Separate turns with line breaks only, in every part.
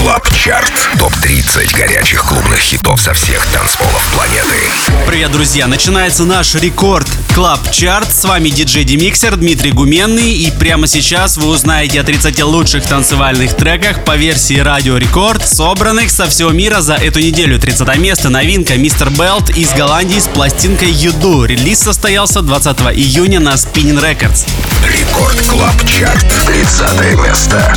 Клаб Чарт. Топ-30 горячих клубных хитов со всех танцполов планеты.
Привет, друзья! Начинается наш рекорд Клаб Чарт. С вами диджей Демиксер Дмитрий Гуменный. И прямо сейчас вы узнаете о 30 лучших танцевальных треках по версии Радио Рекорд, собранных со всего мира за эту неделю. 30 место. Новинка Мистер Белт из Голландии с пластинкой You Do. Релиз состоялся 20 июня на Spinnin' Records.
Рекорд Клаб Чарт. 30 место.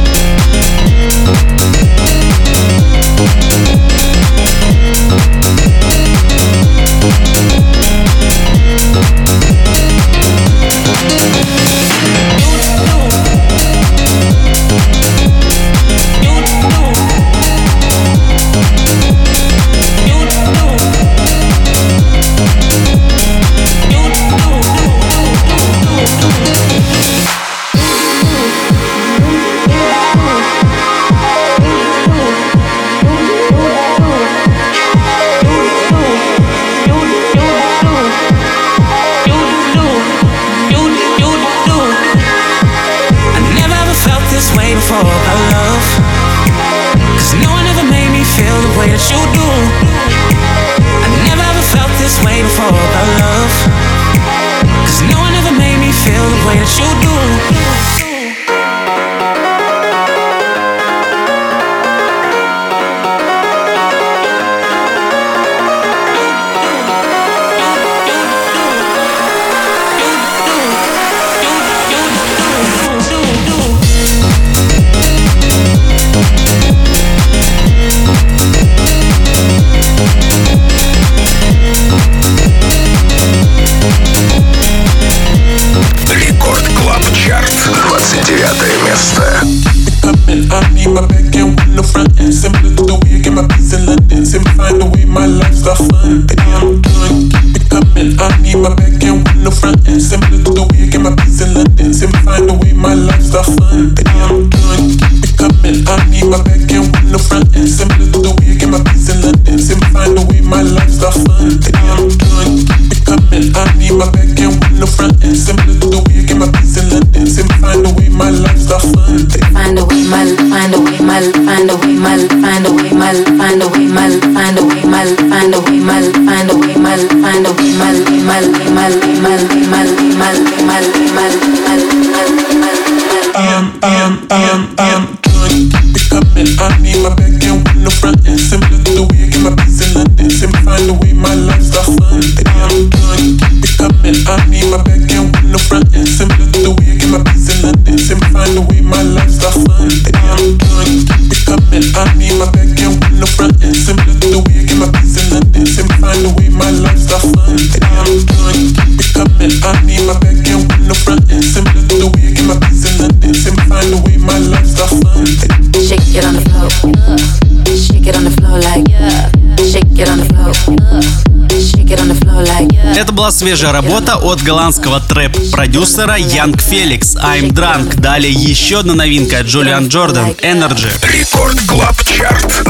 Это была свежая работа от голландского трэп-продюсера Young Felix, I'm Drunk. Далее еще одна новинка от Джулиан Джордан, Energy.
Рекорд Клаб Чарт.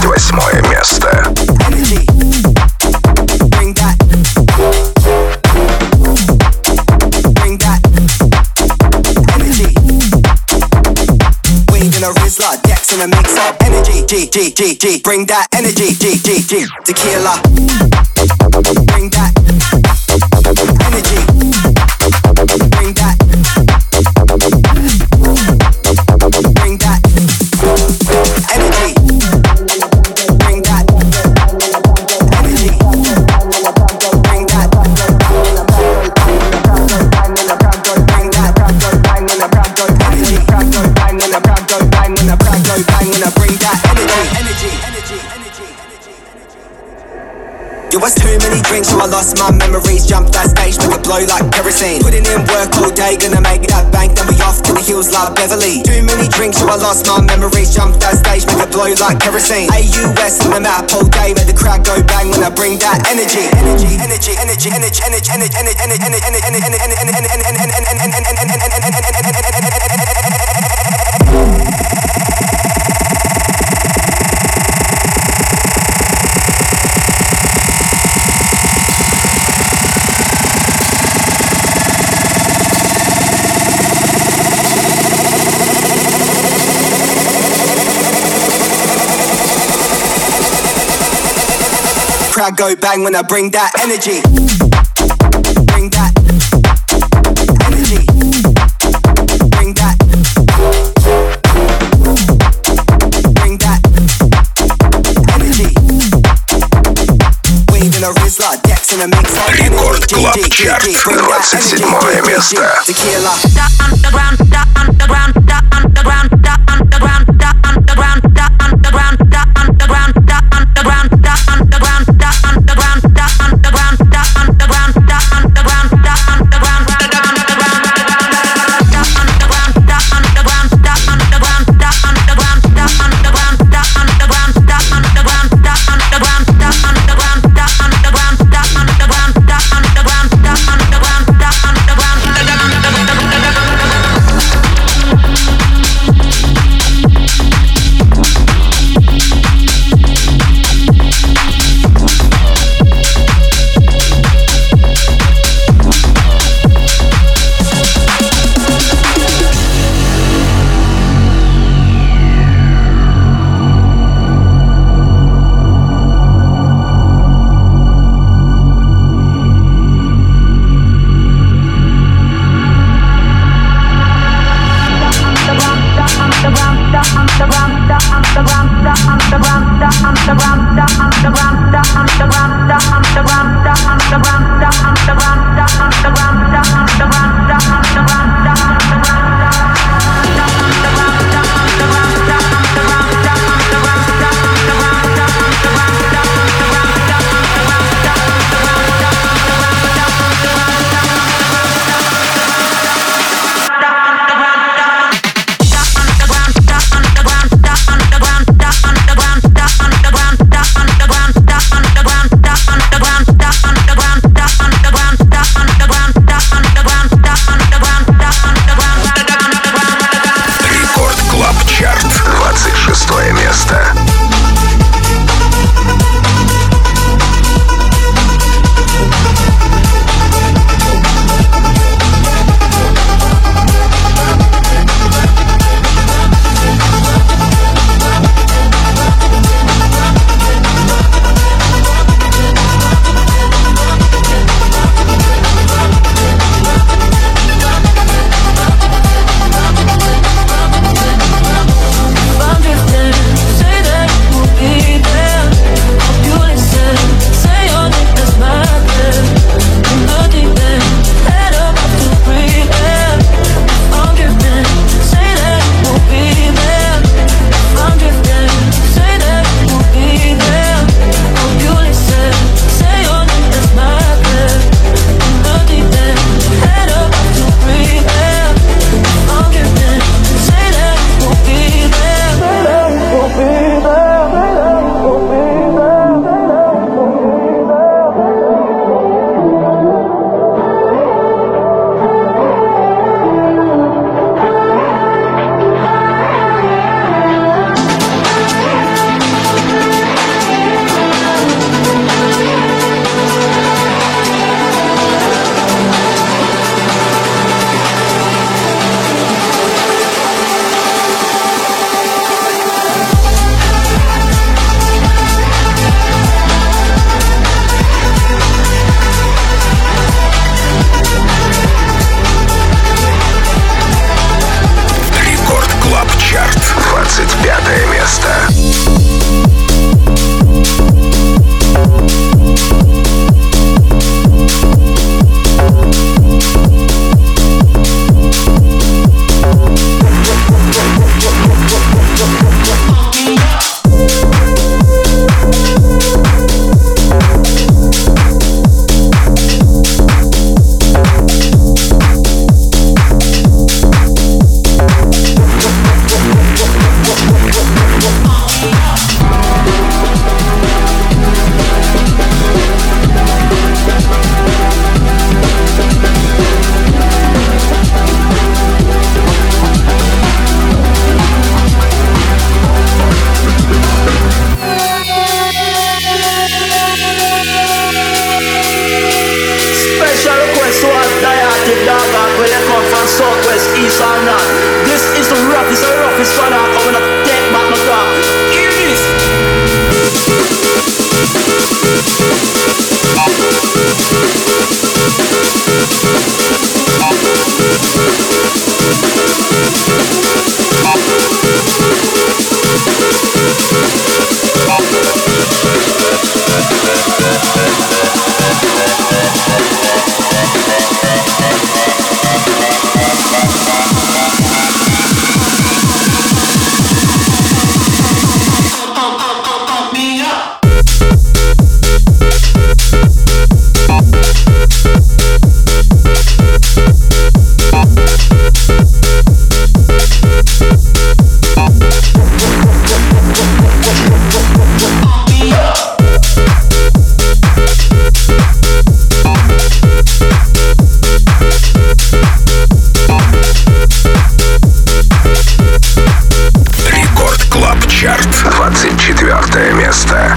28 место.
Decks in a mix up energy, G, bring that energy, G, tequila. Bring that energy. Bring that. Bring that energy. Bring that energy. Bring that. Yo, what's too many drinks, so I lost my memories. Jumped that stage, make it blow like kerosene. Putting in work all day, gonna make that bank. Then we off to the hills like Beverly. Too many drinks, so I lost my memories. Jumped that stage, make it blow like kerosene. AUS on the map all day, make the crowd go bang when I bring that energy. Energy, energy, energy, energy, energy, energy, energy, crowd go bang when I bring that energy. Bring that energy. Bring that. Bring that energy. Wave in a Rizla, Dex in a mix.
Рекорд Клаб Чарт, 27 место.
Tequila.
Чарт, 24 место.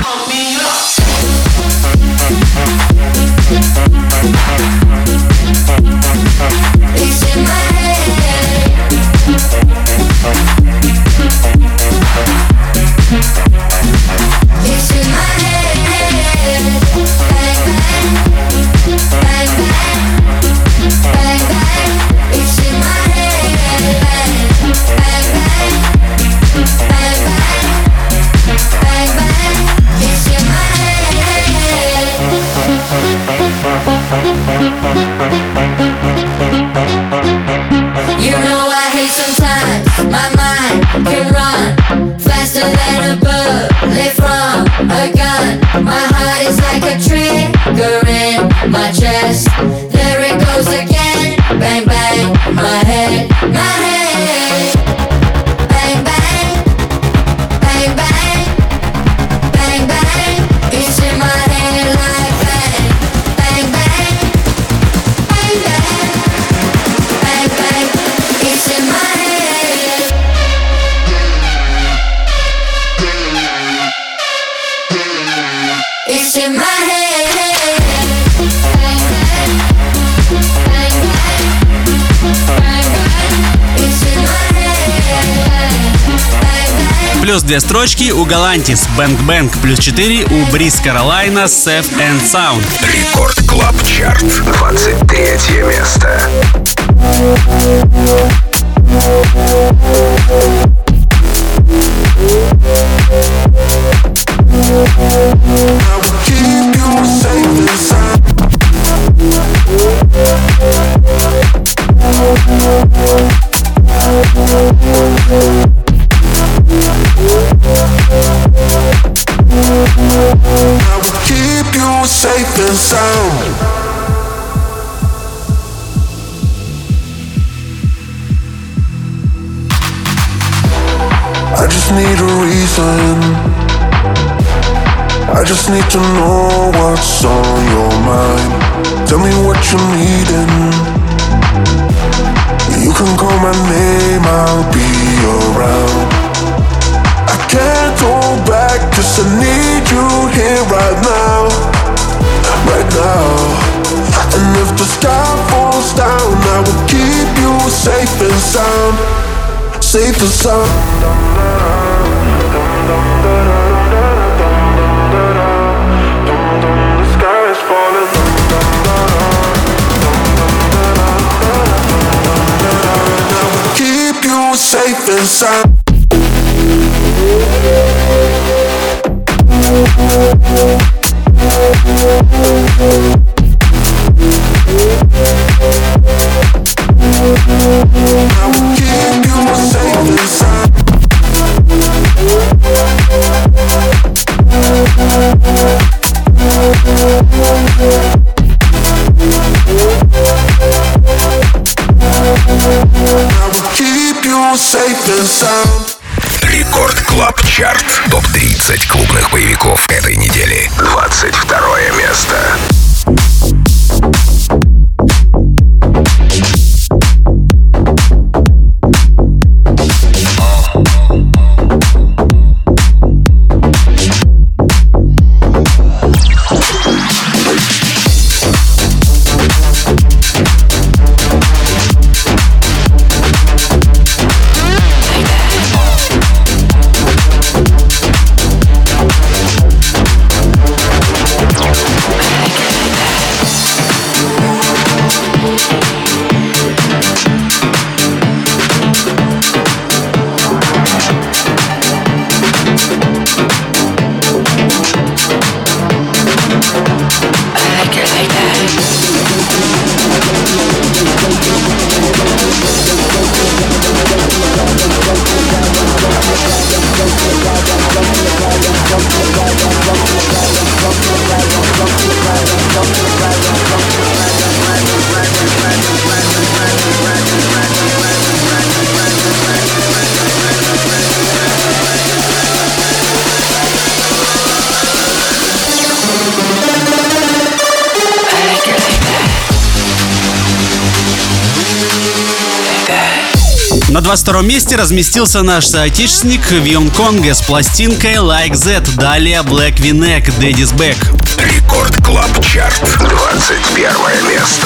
Плюс 2 строчки у Galantis, Bang Bang, плюс 4 у Breeze Carolina, Safe and Sound.
Рекорд Клаб Чарт, 23 место.
Safe and sound. I just need a reason. I just need to know what's on your mind. Tell me what you're needing. You can call my name, I'll be around. I can't go back 'cause I need you here right now. Right now. And if the sky falls down, I will keep you safe and sound. Safe and sound. The sky is falling. I will keep you safe and sound.
Рекорд Клаб Чарт. Топ-30 клубных боевиков этой недели. 22 место.
На 22-м месте разместился наш соотечественник Вион Конге с пластинкой Like That. Далее Black V-Neck, Daddy's Back.
Рекорд Клаб Чарт, 21 место.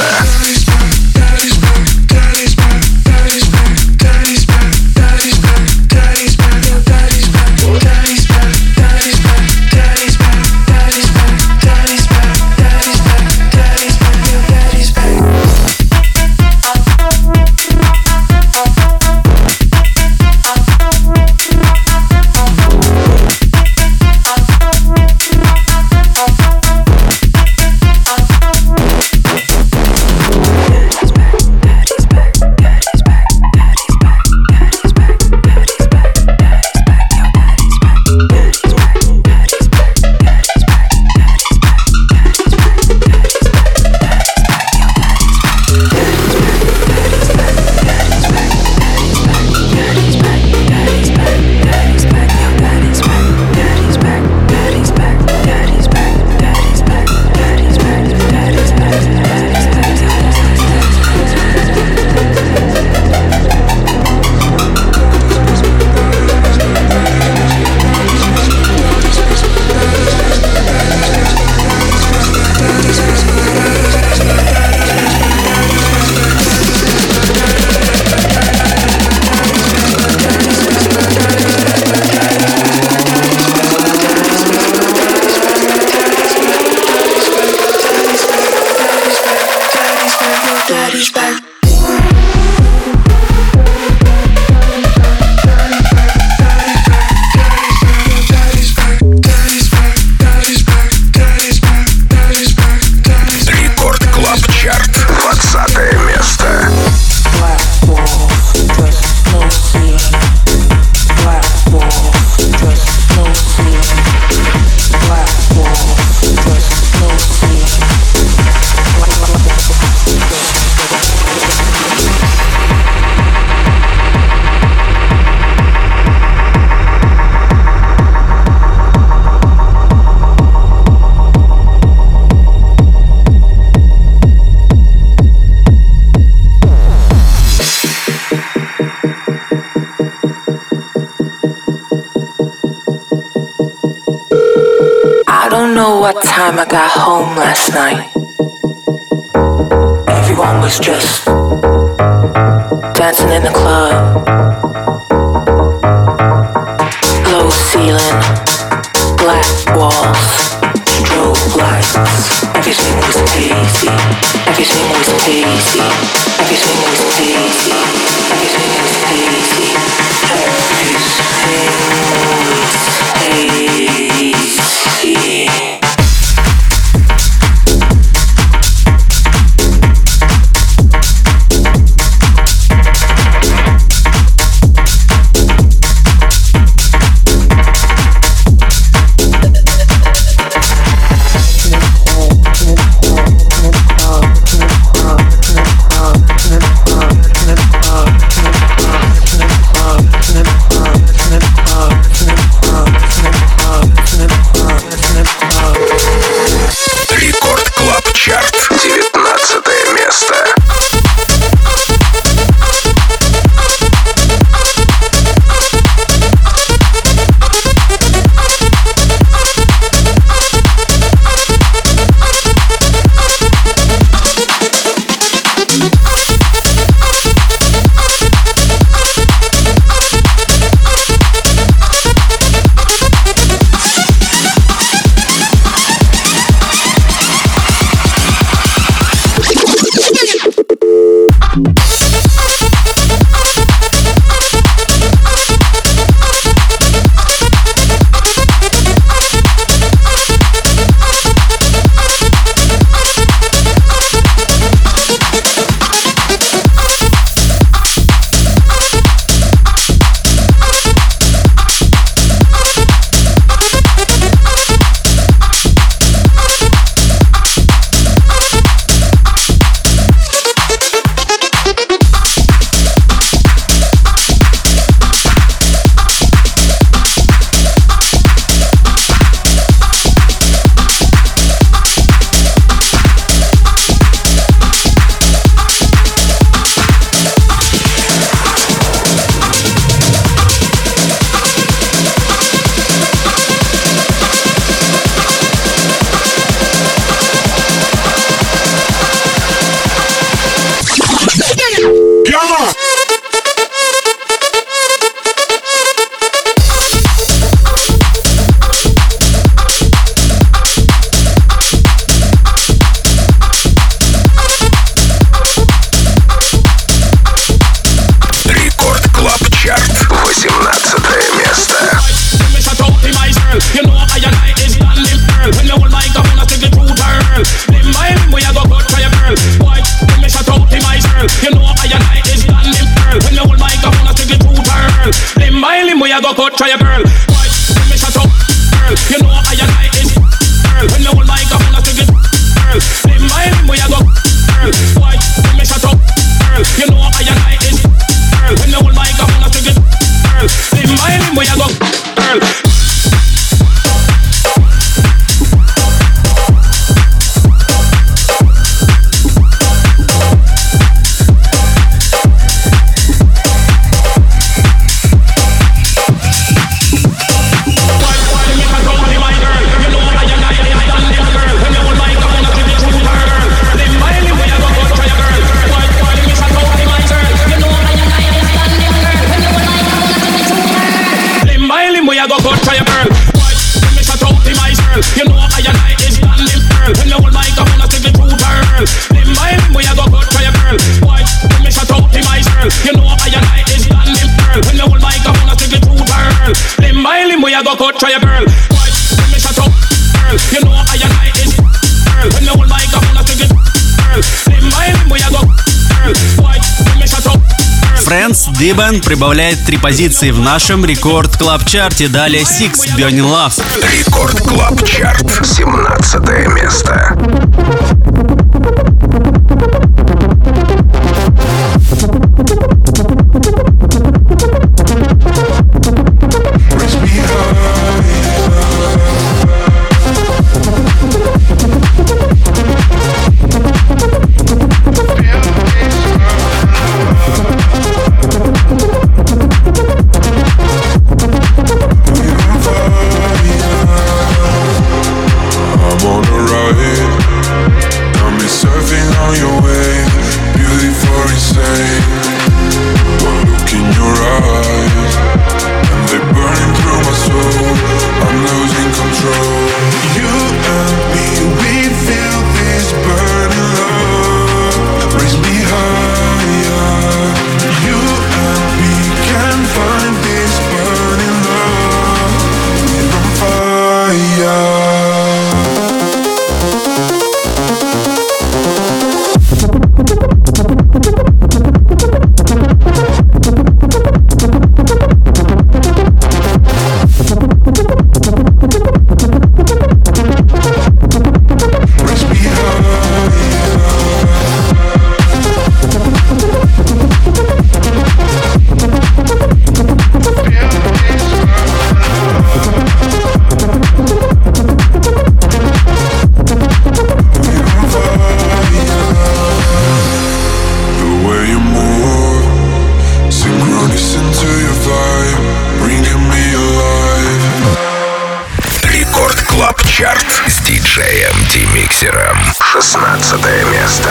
What time I got home last night. Everyone was just dancing in the club. Low ceiling, black walls, strobe lights. Everything was hazy. Everything was hazy. Everything was hazy. Everything was hazy. Everything was hazy.
cut try a girl. Why me shut up, girl? You know I like it, girl. When you hold my cup, I stick it, girl. Limb by limb, we a go, girl. Why me shut up, girl? You know I like it, girl. When you hold my cup, I stick it, girl. Limb by limb, we a go, girl. You know I like it, standing girl. When you hold my cup, I stick it through girl. Limb by limb, we a go cut try a girl. Why? When me shut out the my girl. You know I like it, standing girl. When you hold my cup, I stick it through girl. Limb by limb, we a go cut try a girl. Why? When me shut out girl. You know I like it, girl. When you hold my cup, I stick it girl. Limb by limb, we a go girl. Why? When me shut out.
Friends Дибен прибавляет 3 позиции в нашем Рекорд Клаб Чарте. Далее Six, Burning Love.
Рекорд Клаб Чарт, 17 место. С диджеем Демиксером. 16 место.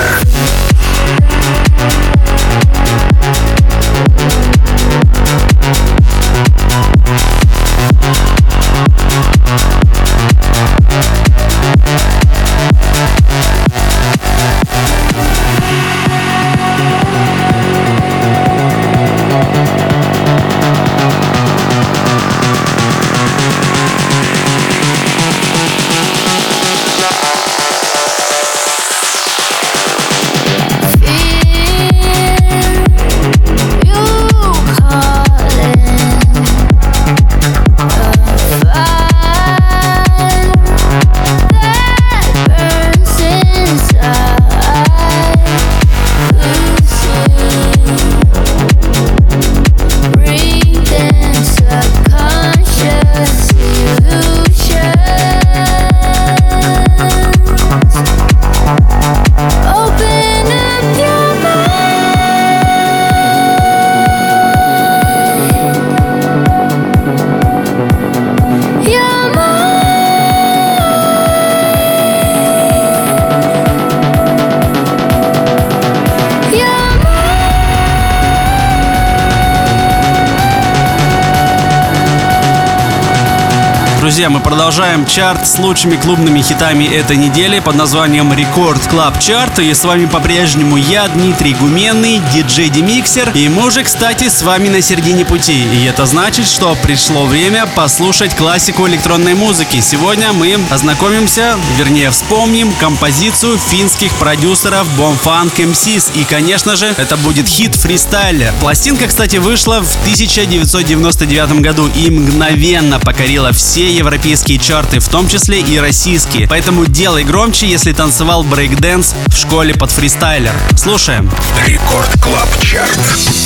Друзья, мы продолжаем чарт с лучшими клубными хитами этой недели под названием Рекорд Клаб Чарт. И с вами по-прежнему я, Дмитрий Гуменный, диджей Демиксер. И мы уже, кстати, с вами на середине пути. И это значит, что пришло время послушать классику электронной музыки. Сегодня мы ознакомимся, вернее вспомним композицию финских продюсеров Bomfunk MCs. И, конечно же, это будет хит «Freestyler». Пластинка, кстати, вышла в 1999 году и мгновенно покорила все европейские чарты, в том числе и российские. Поэтому делай громче, если танцевал брейкдэнс в школе под фристайлер. Слушаем.
Рекорд Клаб Чарт.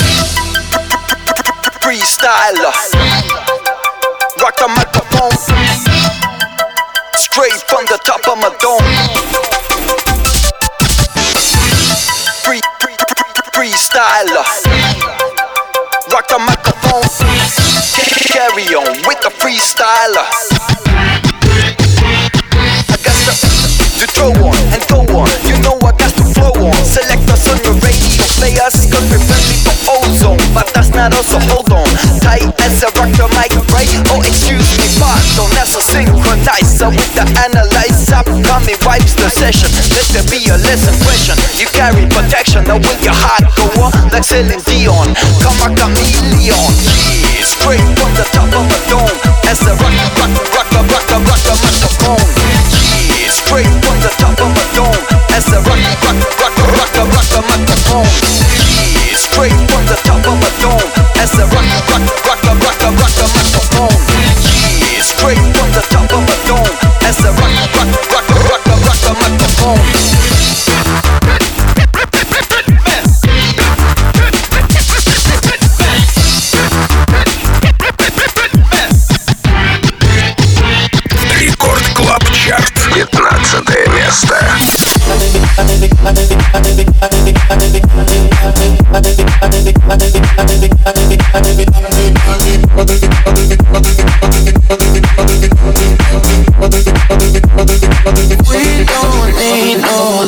Freestyler, rock the microphone, straight from the top of my dome. Freestyler, rock the microphone, carry on with the freestyler. I got to throw on and go on, you know I got to flow on. Select us on your radio players, cause we're friendly for ozone. But that's not us, so hold on tight as I rock the mic, right? Oh, excuse me, pardon, that's a synchronizer with the analyzer. Coming wipes the session, let there be a lesson question. You carry protection, now with your heart go on like Celine Dion. Come a chameleon, yeah, straight from the top of a dome. As I rock the microphone, yeah, straight from the top of a dome. As I rock the microphone, yeah, straight from the top of a dome. As I rock the microphone, yeah, straight from the top of a dome. As I rock the microphone.
Рекорд Клаб Чарт. 15 место.
We don't need no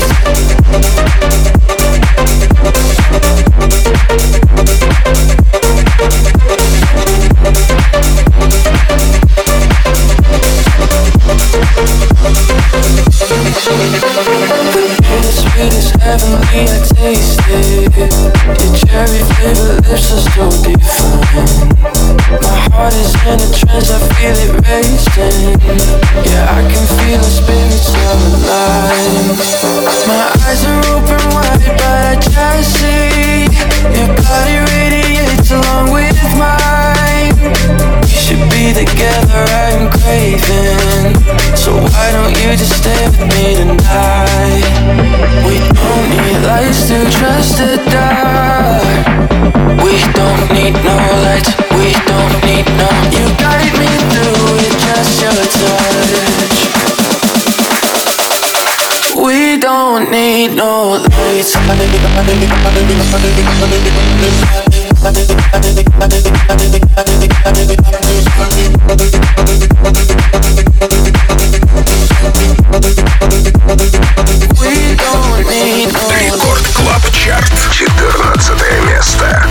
heavenly, I taste it. Your cherry flavor lips are so divine. My heart is in a trance, I feel it racing. Yeah, I can feel the spirits alive. My eyes are open wide, but I just see your body radiates along with mine. We should be together, I'm craving. So why don't you just stay with me tonight? We don't need lights to trust the dark. We don't need no lights, we don't need no. You guide me through it, just your touch. We don't need no lights. We don't need no.
Рекорд Клаб Чарт. 14 место.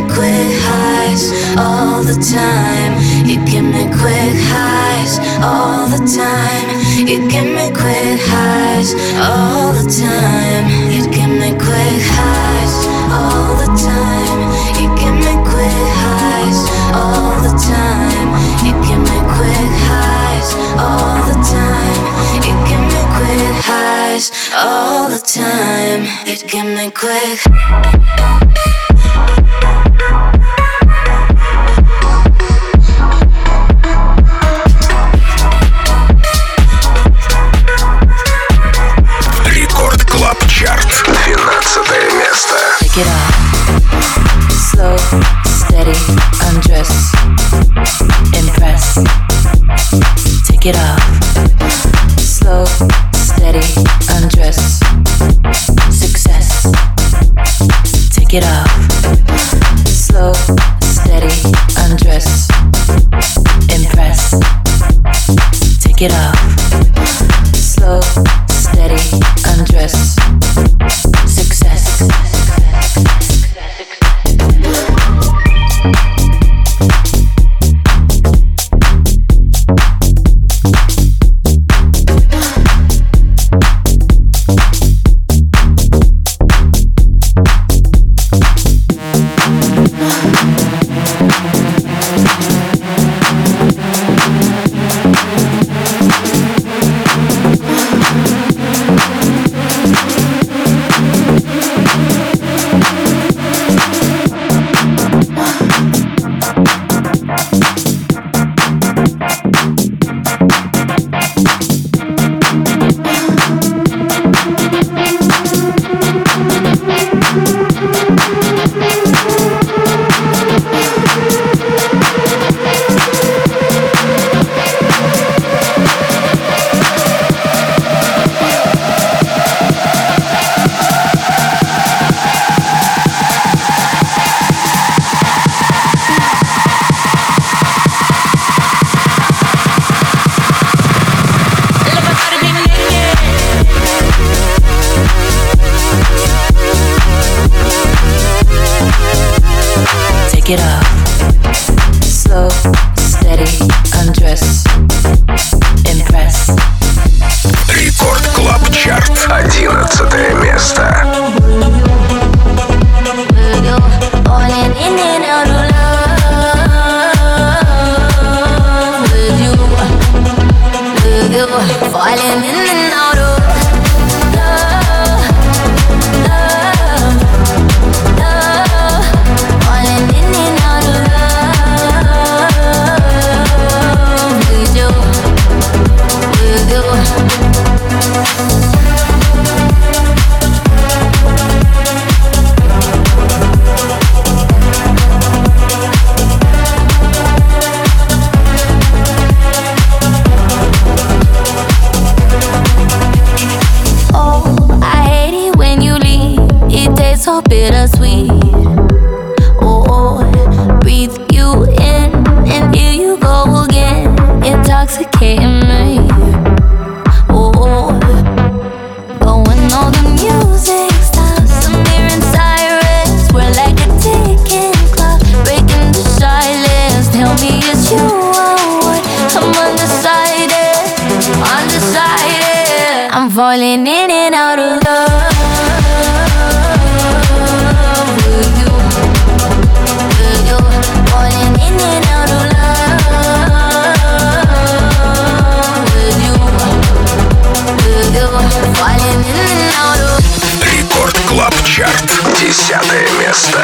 quick highs all the time. You give me quick highs all the time. You give me quick highs all the time. You give me quick highs all the time. You give me quick highs all the time. You give me quick highs all the time. You give me quick highs all the time. You give me quick.
Рекорд Клаб Чарт, 12 место.
Take it off. Slow, steady, undress, impress. Take it off. Slow, steady, undress, success. Take it off. Slow, steady, undress, impress. Take it off. Slow, steady, undress, success. Get up. Slow, steady, undress, impress.
Рекорд Клаб Чарт, 11 место.
Falling in and out of love with you. Falling in and out of so bittersweet. Oh, breathe you in and here you go again, intoxicating me. Oh, but when all the music stops, I'm hearing sirens. We're like a ticking clock, breaking the silence. Tell me it's you I want. I'm undecided, undecided. I'm falling in and out of love.
Рекорд Клаб Чарт, 10 место.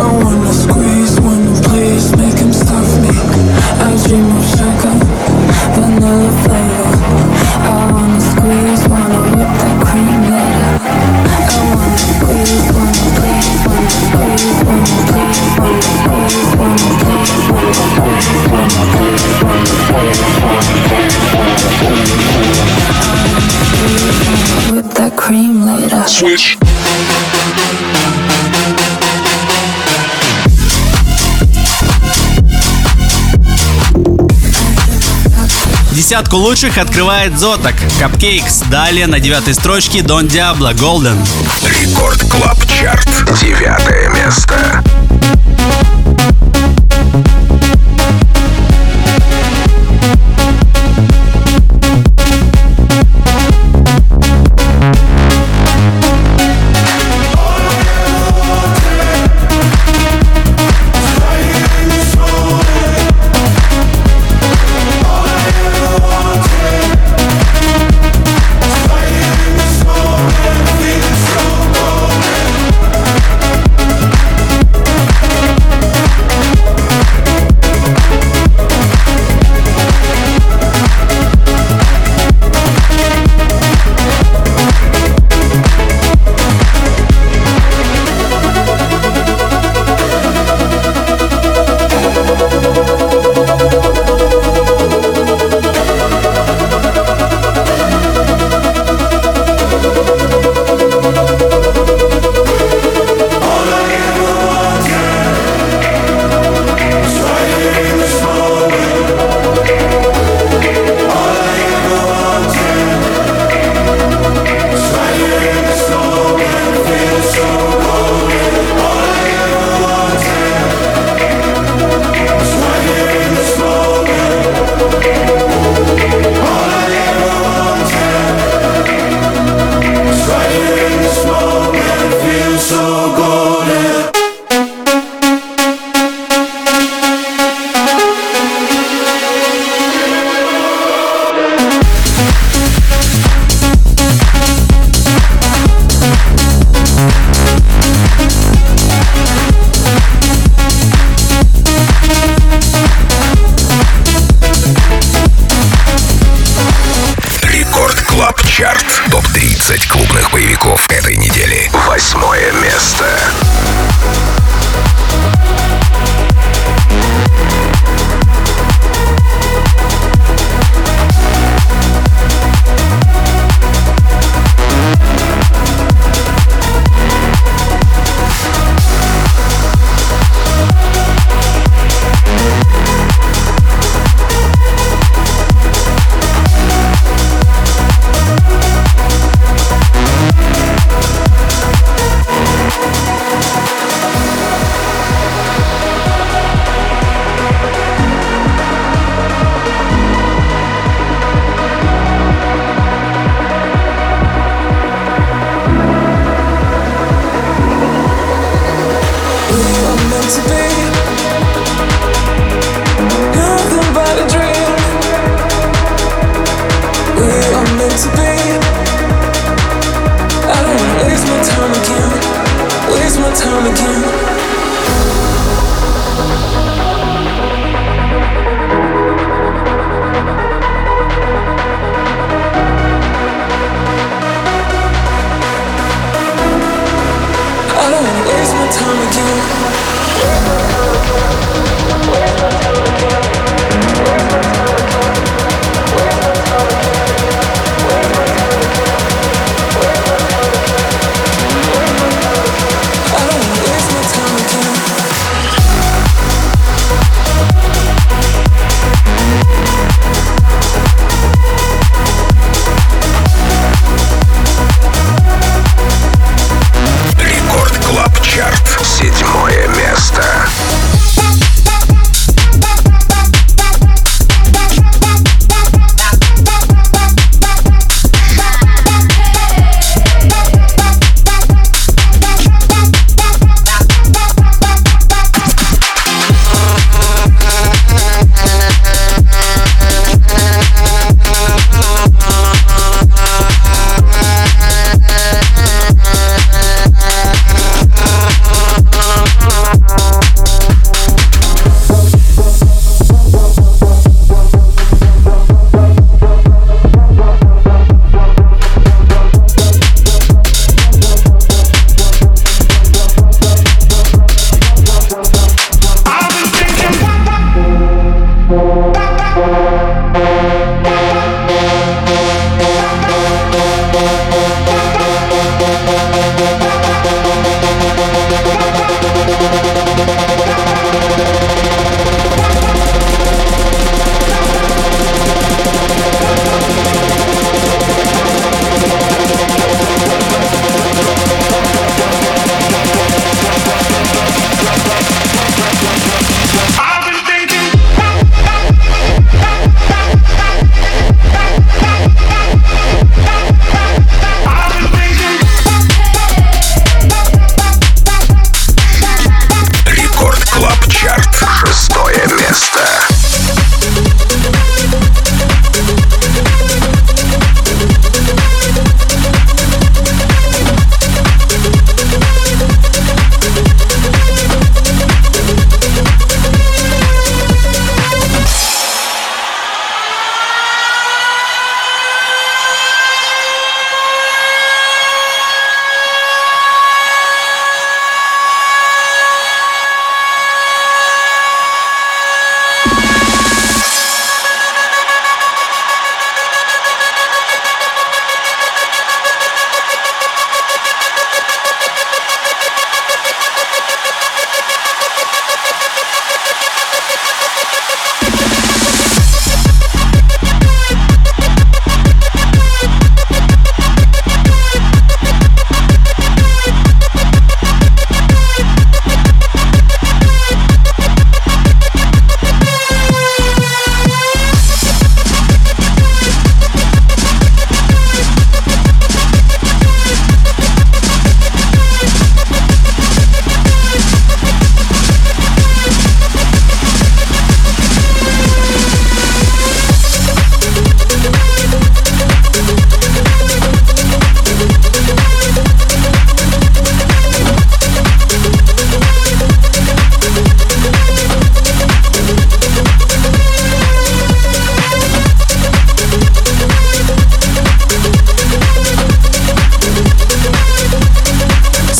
wanna squeeze, wanna please, make him stuff me. I dream of sugar, vanilla flavor. I wanna squeeze, wanna whip that cream later. I wanna squeeze, wanna please, wanna squeeze, wanna please, wanna squeeze, wanna please, wanna squeeze, wanna please, wanna squeeze, wanna whip that cream later.
Switch.
Десятку лучших открывает Зотак, Cupcakes. Далее на 9-й строчке Don Diablo, Golden.
Рекорд Клаб Чарт. 9 место. Топ-30 клубных боевиков этой недели. 8 место.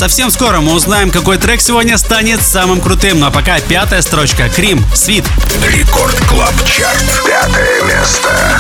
Совсем скоро мы узнаем, какой трек сегодня станет самым крутым. Ну а пока 5-я строчка. Крим, Свит.
Рекорд Клаб Чарт. 5-е место.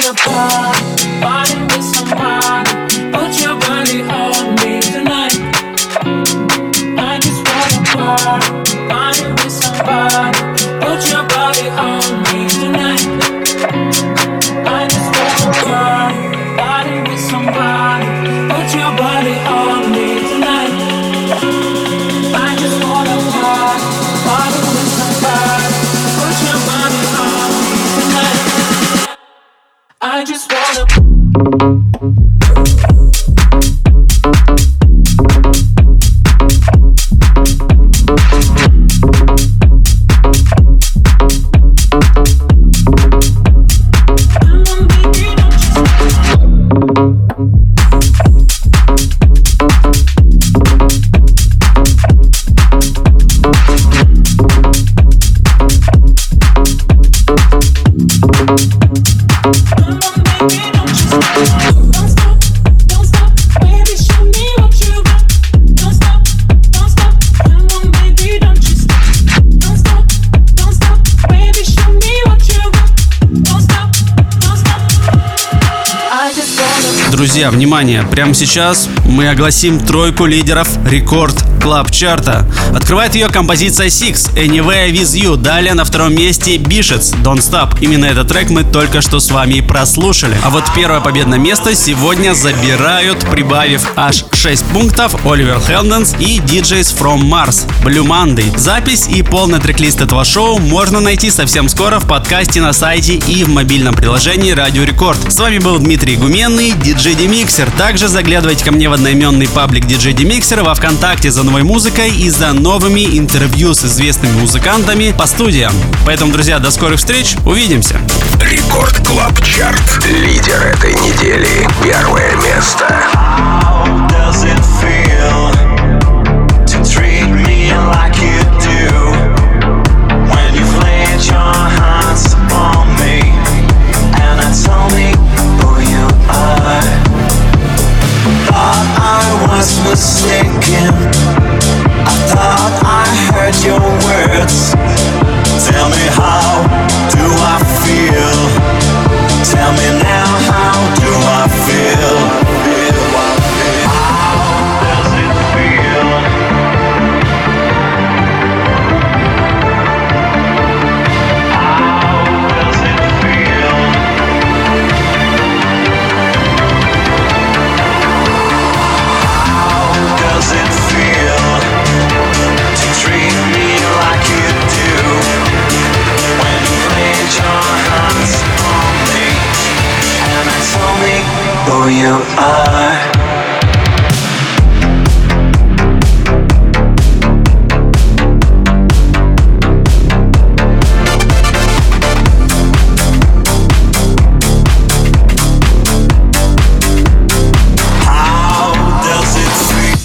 wanna party with somebody. Put your body on me tonight. I just wanna party with somebody. Put your body on me tonight. I just wanna party with somebody. Put your body on me tonight. I just wanna party with somebody. Put your body on me tonight. I just wanna.
Друзья, внимание! Прямо сейчас мы огласим тройку лидеров рекорд Клаб Чарта. Открывает ее композиция Six, Anywhere With You. Далее на втором месте Bishets, Don't Stop. Именно этот трек мы только что с вами и прослушали. А вот первое победное место сегодня забирают, прибавив аж 6 пунктов, Оливер Хелденс и DJs from Mars, Blue Monday. Запись и полный трек-лист этого шоу можно найти совсем скоро в подкасте на сайте и в мобильном приложении Радио Рекорд. С вами был Дмитрий Гуменный, DJ Demixer. Также заглядывайте ко мне в одноименный паблик DJ Demixer во ВКонтакте за новой музыкой и за новыми интервью с известными музыкантами по студиям. Поэтому, друзья, до скорых встреч, увидимся.
Рекорд Клаб Чарт. Лидер этой недели. Первое место.
Mistaken, I thought I heard your words. Tell me, how do I feel? Tell me now, how do I feel? How does it feel? How does it feel? Does it feel to treat me like you do when you laid your hands on me and told me who you are?